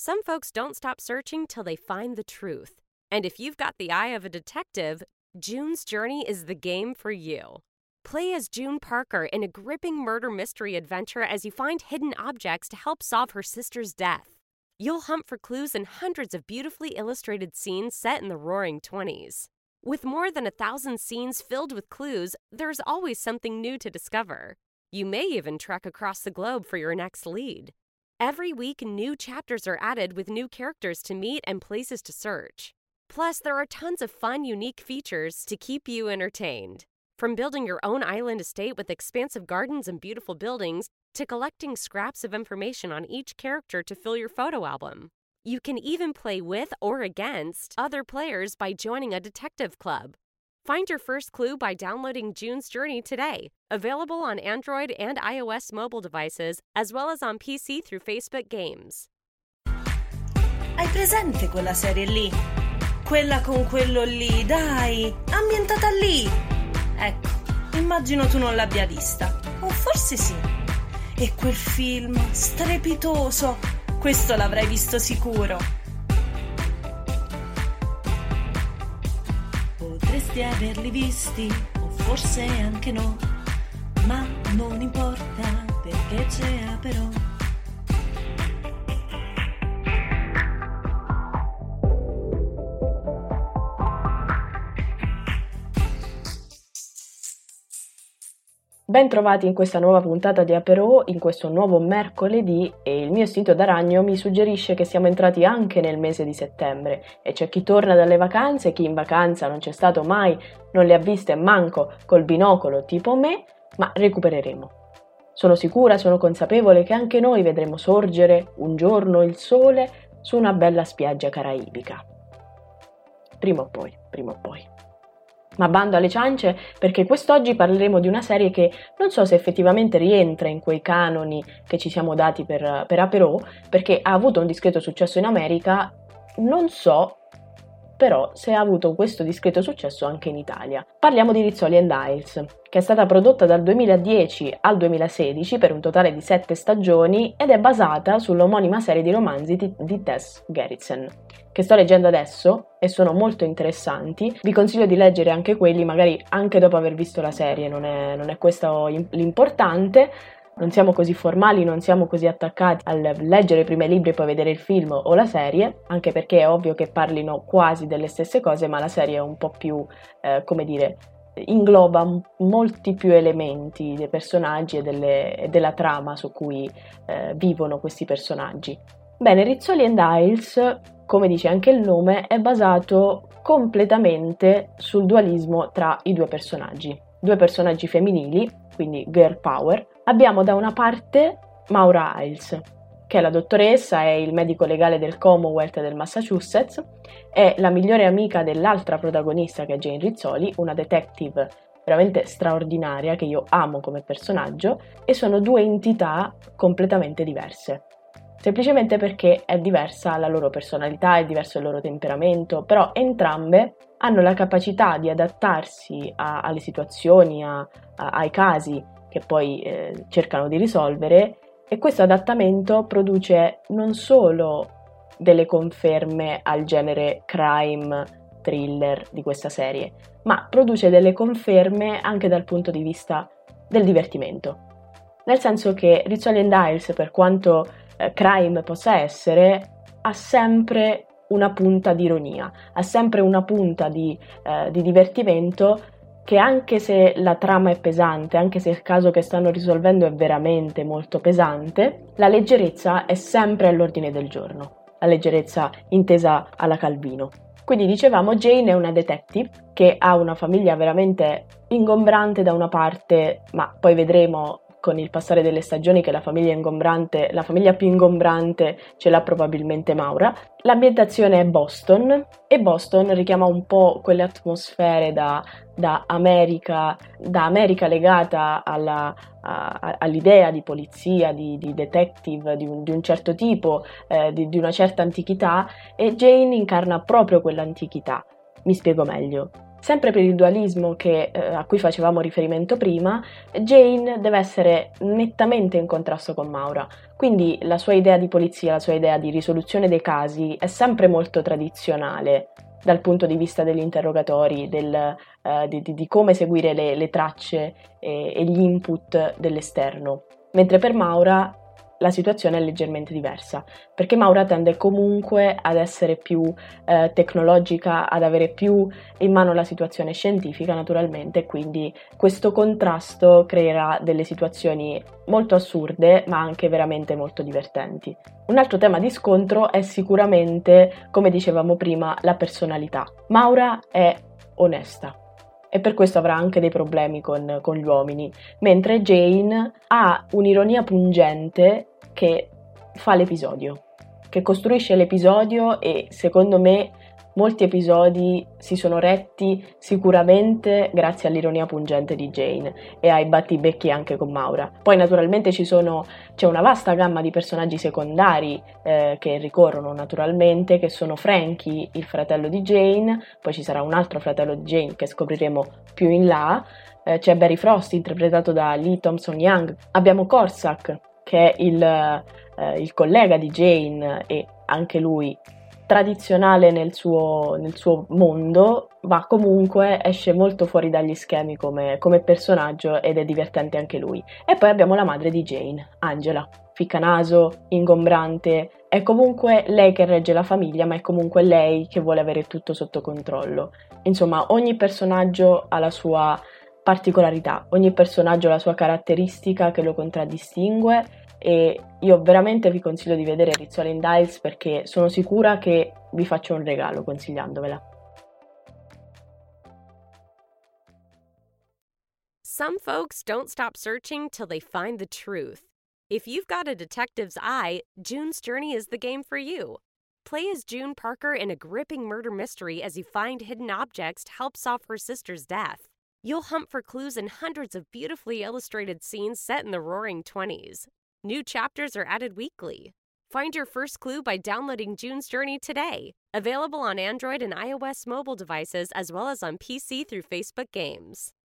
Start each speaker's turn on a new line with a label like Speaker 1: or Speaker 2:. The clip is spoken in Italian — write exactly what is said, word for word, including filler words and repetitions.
Speaker 1: Some folks don't stop searching till they find the truth. And if you've got the eye of a detective, June's Journey is the game for you. Play as June Parker in a gripping murder mystery adventure as you find hidden objects to help solve her sister's death. You'll hunt for clues in hundreds of beautifully illustrated scenes set in the Roaring Twenties. With more than a thousand scenes filled with clues, there's always something new to discover. You may even trek across the globe for your next lead. Every week, new chapters are added with new characters to meet and places to search. Plus, there are tons of fun, unique features to keep you entertained. From building your own island estate with expansive gardens and beautiful buildings, to collecting scraps of information on each character to fill your photo album. You can even play with or against other players by joining a detective club. Find your first clue by downloading June's Journey today. Available on Android and iOS mobile devices, as well as on P C through Facebook Games.
Speaker 2: Hai presente quella serie lì? Quella con quello lì, dai, ambientata lì. Ecco, immagino tu non l'abbia vista. O forse sì. E quel film strepitoso, questo l'avrai visto sicuro. Potresti averli visti, o forse anche no, ma non importa perché c'è però.
Speaker 3: Ben trovati in questa nuova puntata di Aperò, in questo nuovo mercoledì, e il mio istinto da ragno mi suggerisce che siamo entrati anche nel mese di settembre e c'è chi torna dalle vacanze, chi in vacanza non c'è stato mai, non le ha viste manco col binocolo tipo me, ma recupereremo. Sono sicura, sono consapevole che anche noi vedremo sorgere un giorno il sole su una bella spiaggia caraibica. Prima o poi, prima o poi. Ma bando alle ciance, perché quest'oggi parleremo di una serie che non so se effettivamente rientra in quei canoni che ci siamo dati per, per Aperò, perché ha avuto un discreto successo in America, non so però se ha avuto questo discreto successo anche in Italia. Parliamo di Rizzoli and Isles, che è stata prodotta dal duemiladieci al duemilasedici per un totale di sette stagioni ed è basata sull'omonima serie di romanzi di, di Tess Gerritsen, che sto leggendo adesso e sono molto interessanti. Vi consiglio di leggere anche quelli, magari anche dopo aver visto la serie, non è, non è questo l'importante. Non siamo così formali, non siamo così attaccati al leggere prima i libri e poi vedere il film o la serie, anche perché è ovvio che parlino quasi delle stesse cose, ma la serie è un po' più, eh, come dire, ingloba molti più elementi dei personaggi e, delle, e della trama su cui eh, vivono questi personaggi. Bene, Rizzoli and Isles, come dice anche il nome, è basato completamente sul dualismo tra i due personaggi. Due personaggi femminili, quindi girl power. Abbiamo da una parte Maura Isles, che è la dottoressa, è il medico legale del Commonwealth del Massachusetts, è la migliore amica dell'altra protagonista che è Jane Rizzoli, una detective veramente straordinaria che io amo come personaggio, e sono due entità completamente diverse. Semplicemente perché è diversa la loro personalità, è diverso il loro temperamento, però entrambe hanno la capacità di adattarsi a, alle situazioni, a, a, ai casi che poi eh, cercano di risolvere, e questo adattamento produce non solo delle conferme al genere crime, thriller di questa serie, ma produce delle conferme anche dal punto di vista del divertimento. Nel senso che Rizzoli and Isles, per quanto eh, crime possa essere, ha sempre una punta di ironia, ha sempre una punta di, eh, di divertimento, che anche se la trama è pesante, anche se il caso che stanno risolvendo è veramente molto pesante, la leggerezza è sempre all'ordine del giorno, la leggerezza intesa alla Calvino. Quindi dicevamo, Jane è una detective che ha una famiglia veramente ingombrante da una parte, ma poi vedremo con il passare delle stagioni che la famiglia ingombrante, la famiglia più ingombrante ce l'ha probabilmente Maura. L'ambientazione è Boston e Boston richiama un po' quelle atmosfere da, da America, da America legata alla, a, all'idea di polizia, di, di detective di un, di un certo tipo, eh, di, di una certa antichità, e Jane incarna proprio quell'antichità. Mi spiego meglio. Sempre per il dualismo che, eh, a cui facevamo riferimento prima, Jane deve essere nettamente in contrasto con Maura, quindi la sua idea di polizia, la sua idea di risoluzione dei casi è sempre molto tradizionale dal punto di vista degli interrogatori, del, eh, di, di, di come seguire le, le tracce e, e gli input dell'esterno, mentre per Maura la situazione è leggermente diversa, perché Maura tende comunque ad essere più eh, tecnologica, ad avere più in mano la situazione scientifica naturalmente, quindi questo contrasto creerà delle situazioni molto assurde ma anche veramente molto divertenti. Un altro tema di scontro è sicuramente, come dicevamo prima, la personalità. Maura è onesta e per questo avrà anche dei problemi con, con gli uomini, mentre Jane ha un'ironia pungente che fa l'episodio, che costruisce l'episodio e secondo me molti episodi si sono retti sicuramente grazie all'ironia pungente di Jane e ai battibecchi anche con Maura. Poi naturalmente ci sono, c'è una vasta gamma di personaggi secondari eh, che ricorrono naturalmente, che sono Frankie, il fratello di Jane, poi ci sarà un altro fratello di Jane che scopriremo più in là, eh, c'è Barry Frost interpretato da Lee Thompson-Young, abbiamo Corsac che è il, eh, il collega di Jane e anche lui tradizionale nel suo, nel suo mondo, ma comunque esce molto fuori dagli schemi come, come personaggio ed è divertente anche lui. E poi abbiamo la madre di Jane, Angela, ficcanaso, ingombrante, è comunque lei che regge la famiglia, ma è comunque lei che vuole avere tutto sotto controllo. Insomma, ogni personaggio ha la sua particolarità, ogni personaggio ha la sua caratteristica che lo contraddistingue e io veramente vi consiglio di vedere Rizzoli and Isles perché sono sicura che vi faccio un regalo consigliandovela.
Speaker 1: Some folks don't stop searching till they find the truth. If you've got a detective's eye, June's Journey is the game for you. Play as June Parker in a gripping murder mystery as you find hidden objects to help solve her sister's death. You'll hunt for clues in hundreds of beautifully illustrated scenes set in the roaring twenties. New chapters are added weekly. Find your first clue by downloading June's Journey today. Available on Android and iOS mobile devices as well as on P C through Facebook Games.